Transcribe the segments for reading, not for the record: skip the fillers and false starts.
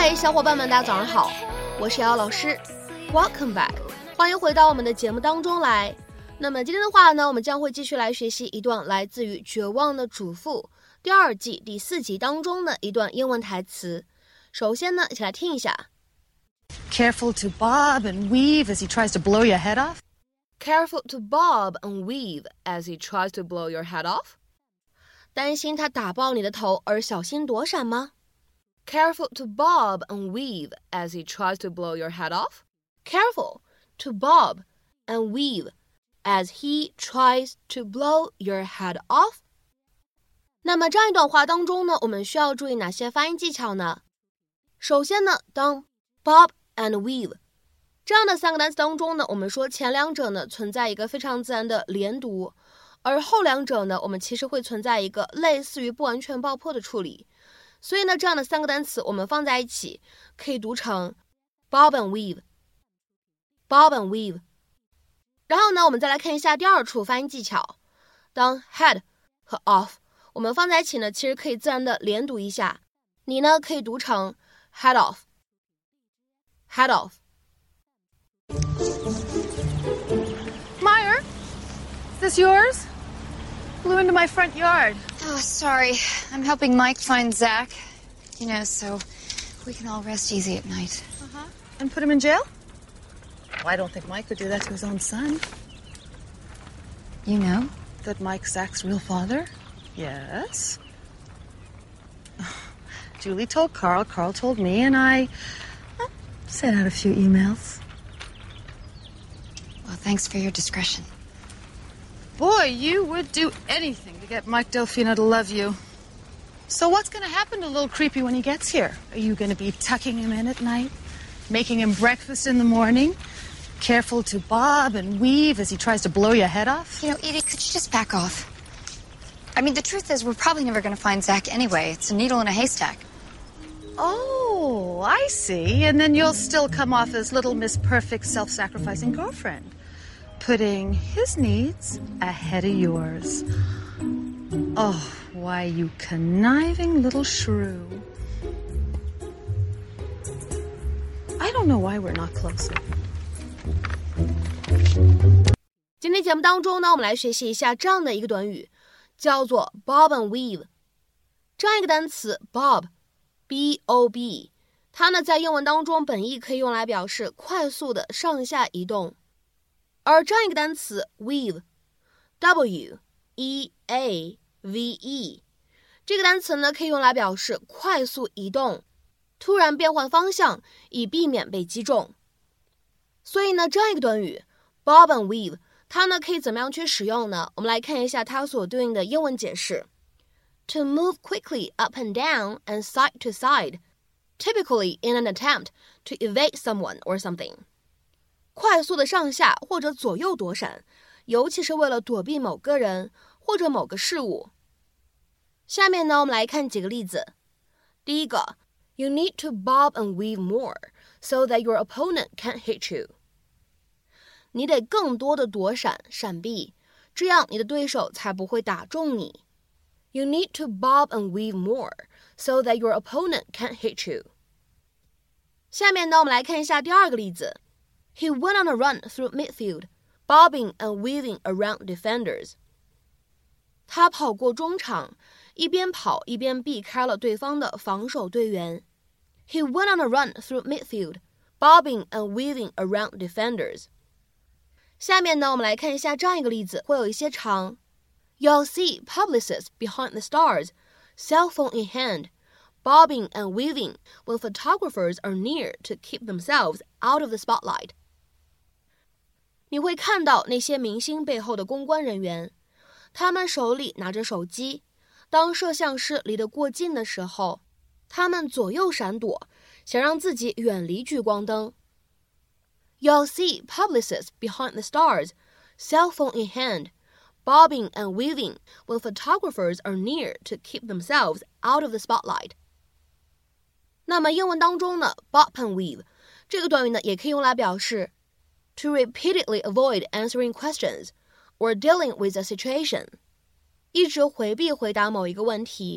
嗨，小伙伴们，大家早上好，我是瑶瑶老师 ，Welcome back， 欢迎回到我们的节目当中来。那么今天的话呢，我们将会继续来学习一段来自于《绝望的主妇》第2季第4集当中的一段英文台词。首先呢，一起来听一下。 Careful to bob and weave as he tries to blow your head off. Careful to bob and weave as he tries to blow your head off. 担心他打爆你的头而小心躲闪吗？ Careful to bob and weave as he tries to blow your head off. Careful to bob and weave as he tries to blow your head off. 那么这样一段话当中呢，我们需要注意哪些发音技巧呢？首先呢，当 bob and weave 这样的3个单词当中呢，我们说前两者呢存在一个非常自然的连读，而后两者呢，我们其实会存在一个类似于不完全爆破的处理。所以呢，这样的3个单词我们放在一起，可以读成 bob and weave, bob and weave。然后呢，我们再来看一下第2处发音技巧。当 head 和 off 我们放在一起呢，其实可以自然的连读一下。你呢，可以读成 head off, head off。 Meyer, is this yours? Blew into my front yard. Oh, sorry. I'm helping Mike find Zach, so we can all rest easy at night. And put him in jail? Well, I don't think Mike would do that to his own son. You know? That Mike's Zach's real father? Yes. Julie told Carl, Carl told me, and I sent out a few emails. Well, thanks for your discretion. Boy, you would do anything to get Mike Delfino to love you. So what's going to happen to little Creepy when he gets here? Are you going to be tucking him in at night? Making him breakfast in the morning? Careful to bob and weave as he tries to blow your head off? Edie, could you just back off? I mean, the truth is we're probably never going to find Zach anyway. It's a needle in a haystack. Oh, I see. And then you'll still come off as little Miss Perfect self-sacrificing girlfriend, putting his needs ahead of yours. Oh, why, you conniving little shrew. I don't know why we're not closer. 今天节目当中呢，我们来学习一下这样的一个短语，叫做 bob and weave。这样一个单词 bob B-O-B 它呢在英文当中本意可以用来表示快速的上下移动，而这样一个单词 weave W-E-A-V-E 这个单词呢可以用来表示快速移动，突然变换方向以避免被击中。所以呢这样一个短语 bob and weave 它呢可以怎么样去使用呢？我们来看一下它所对应的英文解释。To move quickly up and down and side to side, typically in an attempt to evade someone or something. 快速的上下或者左右躲闪，尤其是为了躲避某个人或者某个事物。下面呢，我们来看几个例子。第一个 You need to bob and weave more so that your opponent can't hit you. 你得更多的躲闪闪避，这样你的对手才不会打中你。You need to bob and weave more so that your opponent can't hit you. 下面呢，我们来看一下第2个例子。He went on a run through midfield, bobbing and weaving around defenders. 他跑过中场，一边跑一边避开了对方的防守队员。He went on a run through midfield, bobbing and weaving around defenders. 下面呢，我们来看一下这样一个例子，会有一些长。You'll see publicists behind the stars, cell phone in hand, bobbing and weaving when photographers are near to keep themselves out of the spotlight. 你会看到那些明星背后的公关人员，他们手里拿着手机，当摄像师离得过近的时候，他们左右闪躲，想让自己远离聚光灯。You'll see publicists behind the stars, cell phone in hand, bobbing and weaving when photographers are near to keep themselves out of the spotlight. 那么英文当中呢 bob and weave 这个短语呢也可以用来表示 to repeatedly avoid answering questions or dealing with a situation. 一直回避回答某一个问题，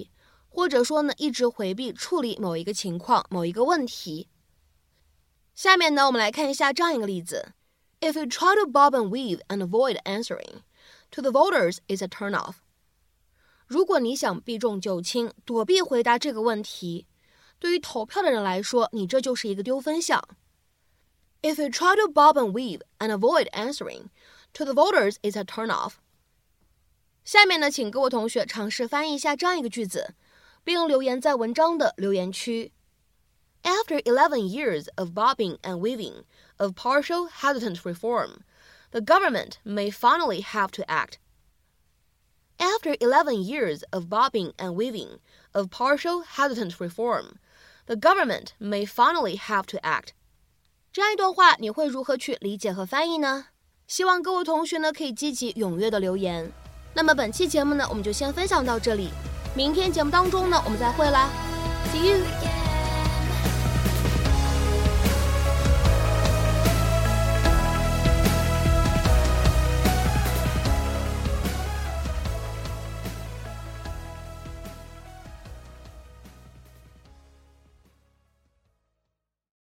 或者说呢一直回避处理某一个情况、某一个问题。下面呢我们来看一下这样一个例子 If you try to bob and weave and avoid answering, to the voters it's a turn-off. 如果你想避重就轻，躲避回答这个问题，对于投票的人来说，你这就是一个丢分项。If you try to bob and weave and avoid answering, to the voters it's a turn-off. 下面呢，请各位同学尝试翻译一下这样一个句子，并留言在文章的留言区。After 11 years of bobbing and weaving of partial hesitant reform, the government may finally have to act. After 11 years of bobbing and weaving of partial hesitant reform, the government may finally have to act. 这样一段话你会如何去理解和翻译呢？希望各位同学呢可以积极踊跃的留言。那么本期节目呢我们就先分享到这里，明天节目当中呢我们再会啦 ，See you。